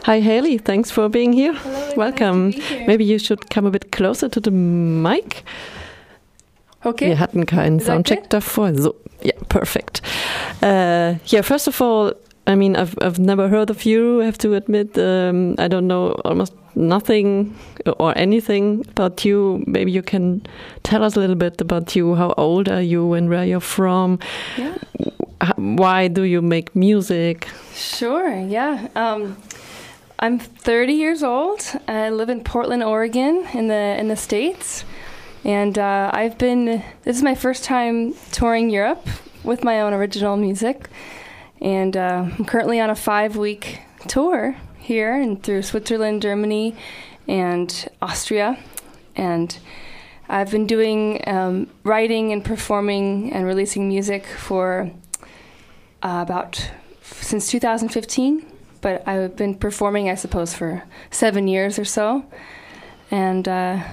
Hi, Haley. Thanks for being here. Hello, Welcome. nice to be here. Maybe you should come a bit closer to the mic. Okay. Wir hatten keinen Is that Soundcheck good? davor. So, yeah, perfect. Yeah, first of all, I mean, I've never heard of you, I have to admit. I don't know almost nothing or anything about you. Maybe you can tell us a little bit about you. How old are you and where you're from? Yeah. Why do you make music? Sure. Yeah. I'm 30 years old. I live in Portland, Oregon, in the States, and this is my first time touring Europe with my own original music, and I'm currently on a 5-week tour here and through Switzerland, Germany, and Austria, and I've been doing writing and performing and releasing music for since 2015. But I've been performing, I suppose, for 7 years or so, and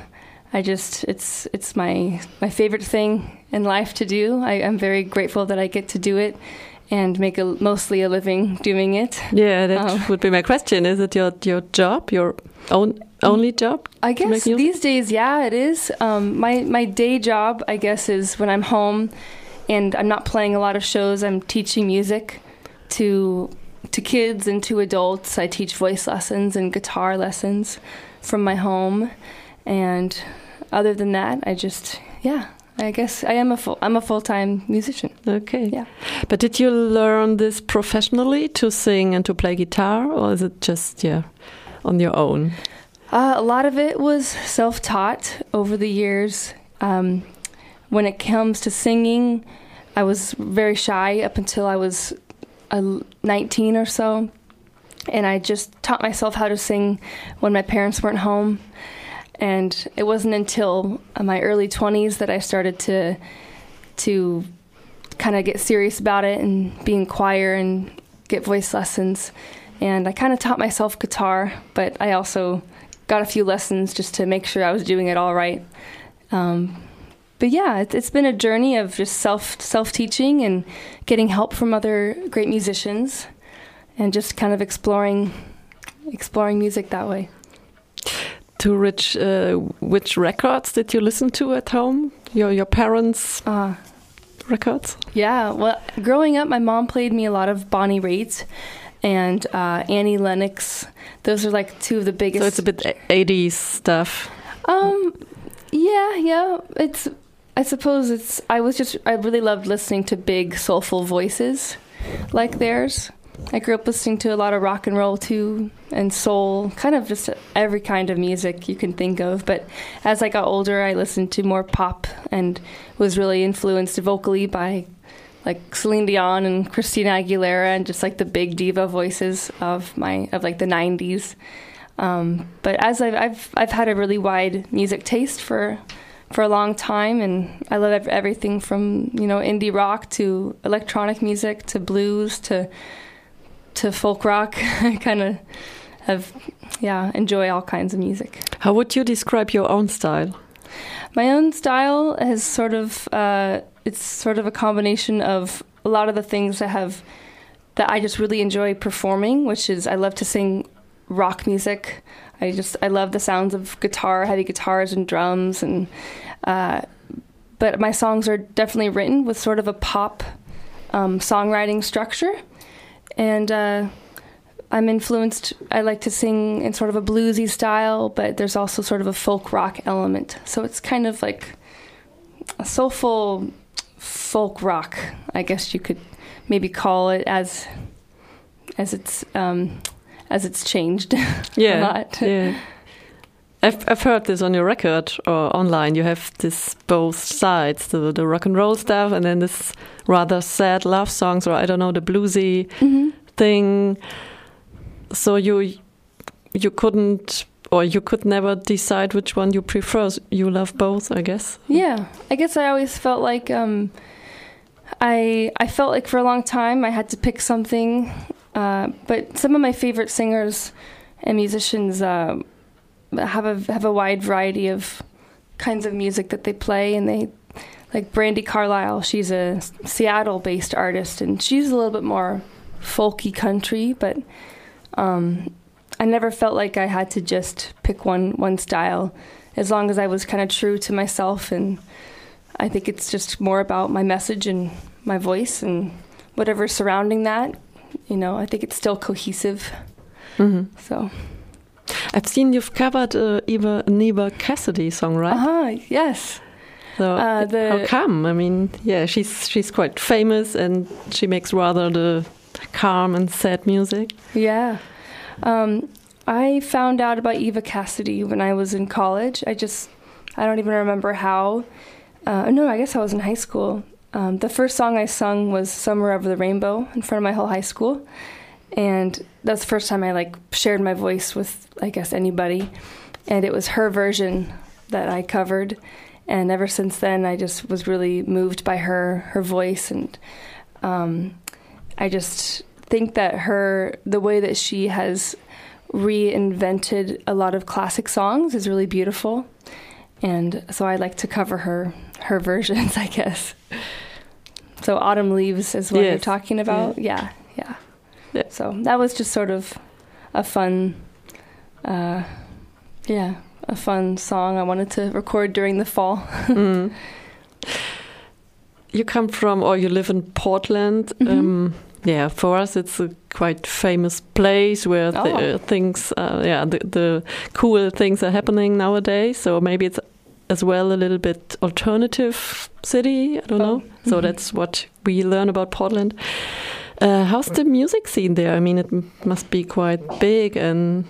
it's my favorite thing in life to do. I'm very grateful that I get to do it and make mostly a living doing it. Yeah, that would be my question. Is it your job, your only job? I guess these days, yeah, it is. My day job, I guess, is when I'm home and I'm not playing a lot of shows. I'm teaching music to kids and to adults. I teach voice lessons and guitar lessons from my home, and other than that, I guess I'm a full-time musician. Okay. Yeah. But did you learn this professionally to sing and to play guitar, or is it just on your own? A lot of it was self-taught over the years. When it comes to singing, I was very shy up until I was 19 or so, and I just taught myself how to sing when my parents weren't home. And it wasn't until my early 20s that I started to kind of get serious about it and be in choir and get voice lessons. And I kind of taught myself guitar, but I also got a few lessons just to make sure I was doing it all right. But yeah, it's been a journey of just self-teaching and getting help from other great musicians and just kind of exploring music that way. To which records did you listen to at home? Your parents' records? Yeah, well, growing up, my mom played me a lot of Bonnie Raitt and Annie Lennox. Those are like two of the biggest. So it's a bit 80s stuff. Yeah. I really loved listening to big, soulful voices like theirs. I grew up listening to a lot of rock and roll too, and soul, kind of just every kind of music you can think of. But as I got older, I listened to more pop and was really influenced vocally by like Celine Dion and Christina Aguilera and just like the big diva voices of like the 90s. But as I've had a really wide music taste for a long time, and I love everything from indie rock to electronic music to blues to folk rock. I kind of enjoy all kinds of music. How would you describe your own style? My own style is sort of a combination of a lot of the things that I just really enjoy performing, which is I love to sing rock music. I love the sounds of guitar, heavy guitars and drums, and but my songs are definitely written with sort of a pop songwriting structure, and I'm influenced. I like to sing in sort of a bluesy style, but there's also sort of a folk rock element. So it's kind of like a soulful folk rock, I guess you could maybe call it, as it's changed a lot. Yeah. I've heard this on your record or online. You have this both sides, the rock and roll stuff, and then this rather sad love songs, or I don't know, the bluesy thing. So you couldn't, or you could never decide which one you prefer. You love both, I guess. Yeah, I guess I always felt like I felt like for a long time I had to pick something. But some of my favorite singers and musicians have a wide variety of kinds of music that they play, and they like Brandi Carlile. She's a Seattle-based artist, and she's a little bit more folky country, but I never felt like I had to just pick one style, as long as I was kind of true to myself. And I think it's just more about my message and my voice and whatever's surrounding that. You know, I think it's still cohesive. Mm-hmm. So I've seen you've covered Eva Cassidy song, right? Yes. So how come? I mean, yeah, she's quite famous, and she makes rather the calm and sad music. Yeah. I found out about Eva Cassidy when I was in college. I don't even remember how. No, I guess I was in high school. The first song I sung was Summer Over the Rainbow in front of my whole high school. And that's the first time I shared my voice with, I guess, anybody. And it was her version that I covered. And ever since then, I just was really moved by her voice. And I just think that the way that she has reinvented a lot of classic songs is really beautiful. And so I like to cover her versions, I guess. So Autumn Leaves is what you're talking about? Yeah. So that was just sort of a fun, a fun song I wanted to record during the fall. Mm. You come from, or you live in Portland. Mm-hmm. For us it's a quite famous place where the cool things are happening nowadays. So maybe it's as well a little bit alternative city. I don't know. Mm-hmm. So that's what we learn about Portland. How's the music scene there? I mean, it must be quite big and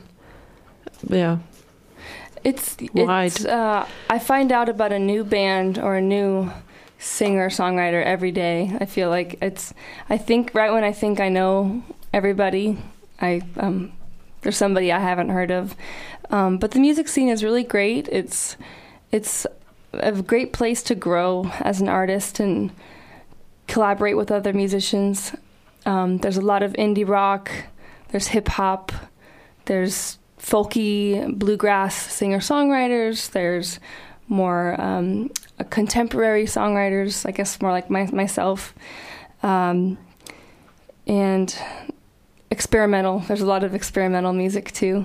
wide. I find out about a new band or a new singer-songwriter every day. I feel like I think right when I think I know everybody, there's somebody I haven't heard of. But the music scene is really great. It's a great place to grow as an artist and collaborate with other musicians. There's a lot of indie rock, there's hip-hop, there's folky, bluegrass singer-songwriters, there's more contemporary songwriters, I guess more like myself, and experimental. There's a lot of experimental music too.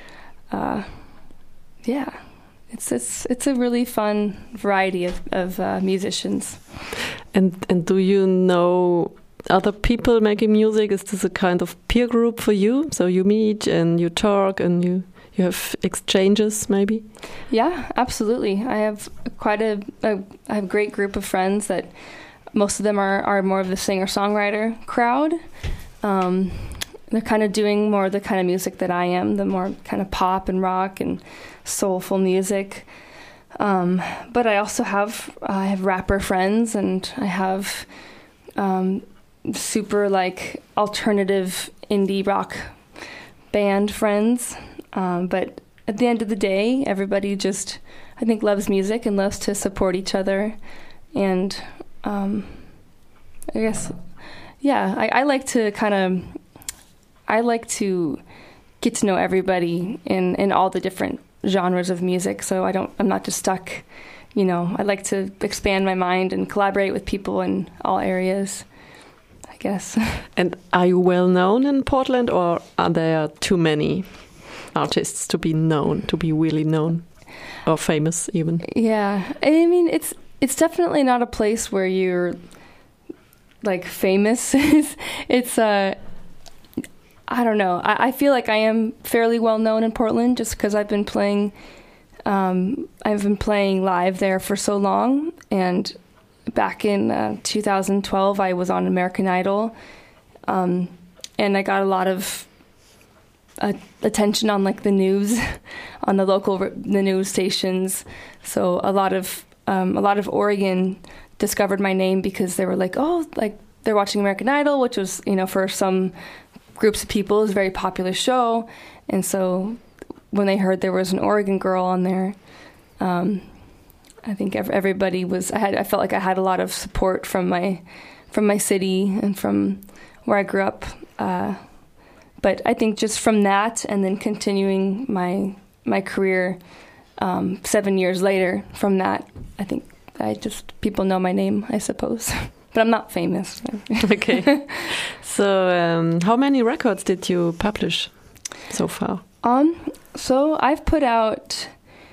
It's a really fun variety of musicians. And do you know other people making music? Is this a kind of peer group for you? So you meet and you talk and you have exchanges, maybe? Yeah, absolutely. I have I have a great group of friends that most of them are more of the singer-songwriter crowd. They're kind of doing more of the kind of music that I am, the more kind of pop and rock and soulful music. But I also have rapper friends, and I have super alternative indie rock band friends. But at the end of the day, everybody just, I think, loves music and loves to support each other. And I guess, I like to get to know everybody in all the different genres of music. So I'm not just stuck, I like to expand my mind and collaborate with people in all areas, I guess. And are you well known in Portland, or are there too many artists to be known, to be really known or famous even? Yeah, I mean, it's definitely not a place where you're famous. It's I don't know. I feel like I am fairly well known in Portland just because I've been playing live there for so long. And back in 2012, I was on American Idol, and I got a lot of attention on the news, on the news stations. So a lot of Oregon discovered my name because they were they're watching American Idol, which was for some groups of people is a very popular show. And so when they heard there was an Oregon girl on there, I think everybody was, I felt like I had a lot of support from my city and from where I grew up. But I think just from that and then continuing my career 7 years later from that, I think people know my name, I suppose. But I'm not famous. Okay. So how many records did you publish so far? So I've put out,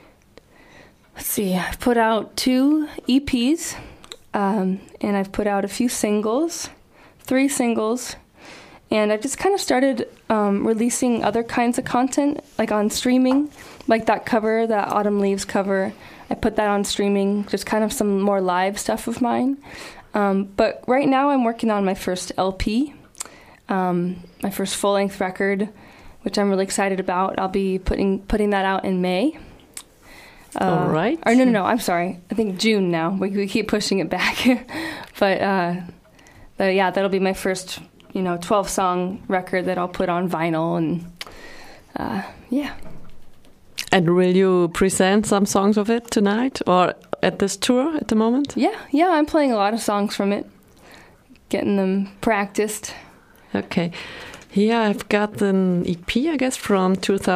I've put out 2 EPs, and I've put out a few singles, 3 singles, and I've just kind of started releasing other kinds of content, like on streaming, like that cover, that Autumn Leaves cover. I put that on streaming, just kind of some more live stuff of mine. But right now I'm working on my first LP, my first full-length record, which I'm really excited about. I'll be putting that out in May. All right. Or no, I'm sorry. I think June now. We keep pushing it back. But yeah, that'll be my first, 12-song record that I'll put on vinyl, and yeah. And will you present some songs of it tonight or at this tour at the moment? Yeah, I'm playing a lot of songs from it, getting them practiced. Okay. Here I've got an EP, I guess, from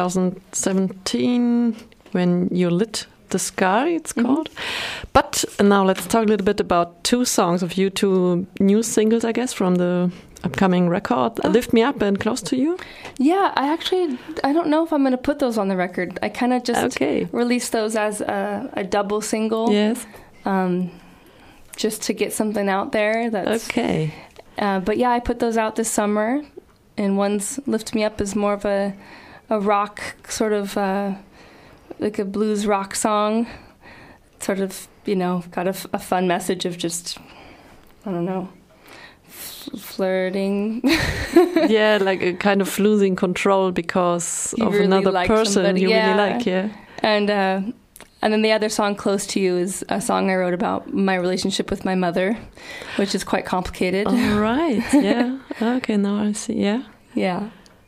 2017, When You Lit the Sky, it's called. But now let's talk a little bit about 2 songs of you, 2 new singles, I guess, from the upcoming record, Lift Me Up and Close to You. Yeah, I don't know if I'm going to put those on the record. I kind of just released those as a double single. Yes. Just to get something out there. That's okay. But yeah, I put those out this summer. And one's Lift Me Up is more of a rock, sort of like a blues rock song. Sort of, got a fun message of just, I don't know, flirting. Yeah, like a kind of losing control because of really another person somebody. You really like, yeah. And then the other song, Close to You, is a song I wrote about my relationship with my mother, which is quite complicated. All right, yeah. Okay, now I see, yeah. Yeah.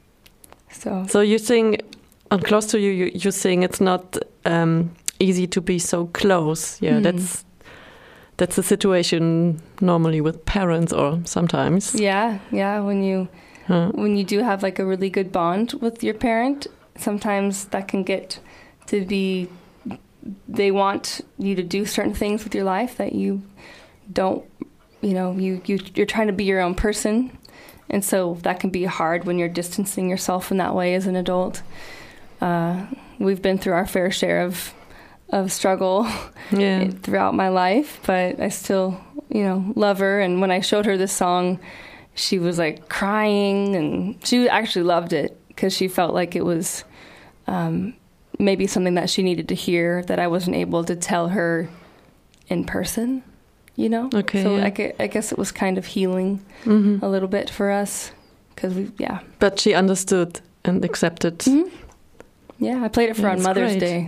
So you sing, on Close to You, you sing it's not easy to be so close. Yeah, that's the situation normally with parents or sometimes. Yeah, when you do have like a really good bond with your parent, sometimes that can get to be, they want you to do certain things with your life that you don't, you're trying to be your own person. And so that can be hard when you're distancing yourself in that way as an adult. We've been through our fair share of struggle throughout my life, but I still, love her. And when I showed her this song, she was like crying, and she actually loved it because she felt like it was maybe something that she needed to hear that I wasn't able to tell her in person, Okay. So I guess it was kind of healing a little bit for us because But she understood and accepted. Mm-hmm. Yeah, I played it for on Mother's Day.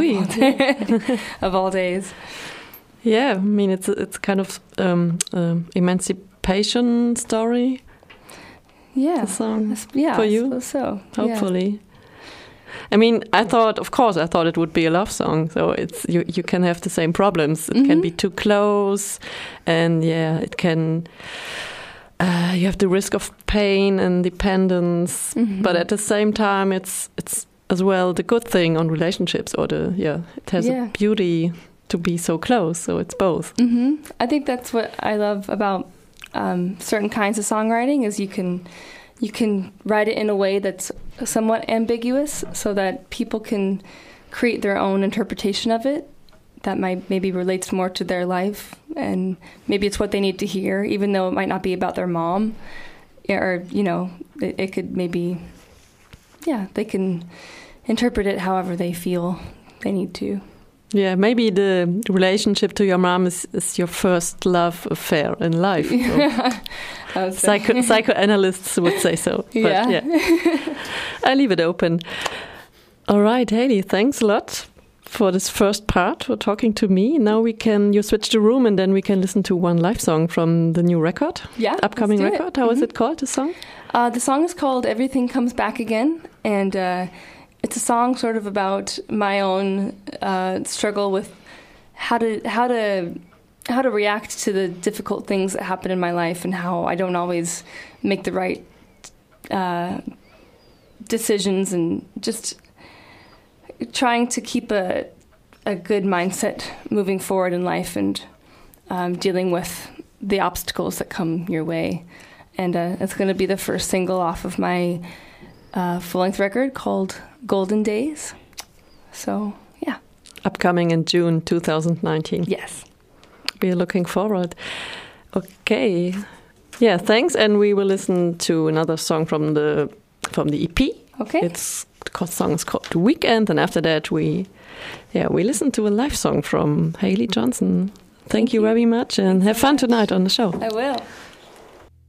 Of all days. Yeah, I mean it's kind of emancipation story. Yeah, the song for you. I suppose so. Hopefully. Yeah. I mean, I thought it would be a love song. So it's you can have the same problems. It can be too close, and it can. You have the risk of pain and dependence, but at the same time, it's as well the good thing on relationships, or it has a beauty to be so close. So it's both. I think that's what I love about certain kinds of songwriting is you can write it in a way that's somewhat ambiguous so that people can create their own interpretation of it that maybe relates more to their life, and maybe it's what they need to hear, even though it might not be about their mom, or it could maybe they can interpret it however they feel they need to. Yeah, maybe the relationship to your mom is your first love affair in life. Psychoanalysts would say so. But I leave it open. All right, Hayley, thanks a lot for this first part, for talking to me. Now you switch the room and then we can listen to one live song from the new record. Yeah, upcoming record. How is it called, the song? The song is called Everything Comes Back Again, and it's a song sort of about my own struggle with how to react to the difficult things that happen in my life, and how I don't always make the right decisions, and just trying to keep a good mindset moving forward in life, and dealing with the obstacles that come your way. And it's going to be the first single off of my full-length record called Golden Days. So, yeah. Upcoming in June 2019. Yes. We're looking forward. Okay. Yeah, thanks. And we will listen to another song from the EP. Okay. The song is called Weekend, and after that we listen to a live song from Haley Johnson. Thank you very much, and have fun tonight on the show. I will.